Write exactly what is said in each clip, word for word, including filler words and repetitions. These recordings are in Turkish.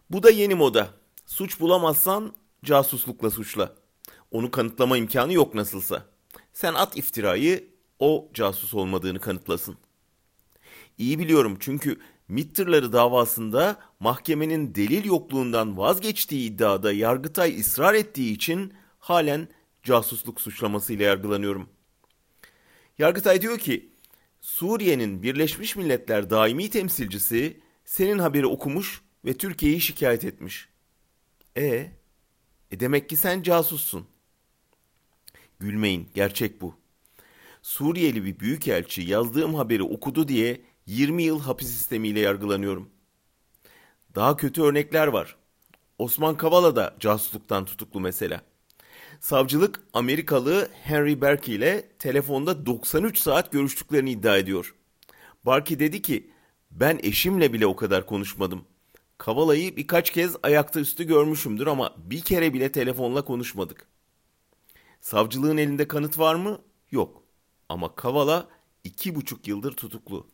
Bu da yeni moda. Suç bulamazsan casuslukla suçla. Onu kanıtlama imkanı yok nasılsa. Sen at iftirayı, o casus olmadığını kanıtlasın. İyi biliyorum çünkü MİT tırları davasında mahkemenin delil yokluğundan vazgeçtiği iddiada Yargıtay ısrar ettiği için halen casusluk suçlamasıyla yargılanıyorum. Yargıtay diyor ki, Suriye'nin Birleşmiş Milletler daimi temsilcisi senin haberi okumuş ve Türkiye'yi şikayet etmiş. E, e demek ki sen casussun. Gülmeyin, gerçek bu. Suriyeli bir büyükelçi yazdığım haberi okudu diye yirmi yıl hapis sistemiyle yargılanıyorum. Daha kötü örnekler var. Osman Kavala da casusluktan tutuklu mesela. Savcılık Amerikalı Henry Berkey ile telefonda doksan üç saat görüştüklerini iddia ediyor. Berkey dedi ki, ben eşimle bile o kadar konuşmadım. Kavala'yı birkaç kez ayakta üstü görmüşümdür ama bir kere bile telefonla konuşmadık. Savcılığın elinde kanıt var mı? Yok. Ama Kavala iki buçuk yıldır tutuklu.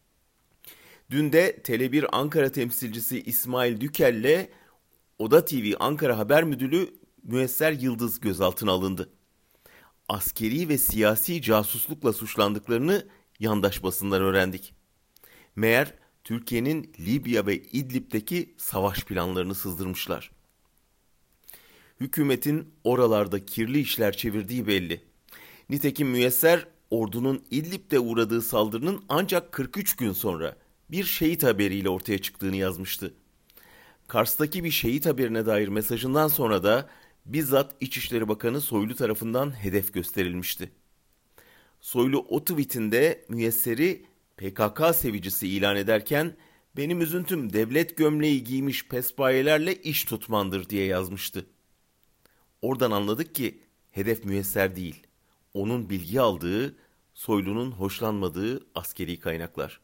Dün de Tele bir Ankara temsilcisi İsmail Dükel'le Oda T V Ankara Haber Müdürü Müesser Yıldız gözaltına alındı. Askeri ve siyasi casuslukla suçlandıklarını yandaş basından öğrendik. Meğer Türkiye'nin Libya ve İdlib'deki savaş planlarını sızdırmışlar. Hükümetin oralarda kirli işler çevirdiği belli. Nitekim Müyesser ordunun İdlib'de uğradığı saldırının ancak kırk üç gün sonra bir şehit haberiyle ortaya çıktığını yazmıştı. Kars'taki bir şehit haberine dair mesajından sonra da bizzat İçişleri Bakanı Soylu tarafından hedef gösterilmişti. Soylu o tweetinde Müyesser'i P K K sevicisi ilan ederken benim üzüntüm devlet gömleği giymiş pespayelerle iş tutmandır diye yazmıştı. Oradan anladık ki hedef Müyesser değil, onun bilgi aldığı, Soylu'nun hoşlanmadığı askeri kaynaklar.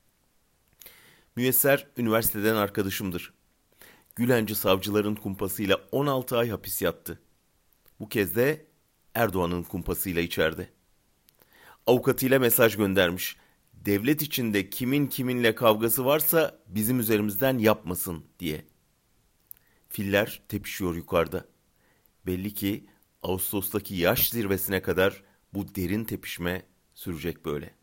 Müyesser üniversiteden arkadaşımdır. Gülenci savcıların kumpasıyla on altı ay hapis yattı. Bu kez de Erdoğan'ın kumpasıyla içeride. Avukatıyla mesaj göndermiş. Devlet içinde kimin kiminle kavgası varsa bizim üzerimizden yapmasın diye. Filler tepişiyor yukarıda. Belli ki Ağustos'taki yaş zirvesine kadar bu derin tepişme sürecek böyle.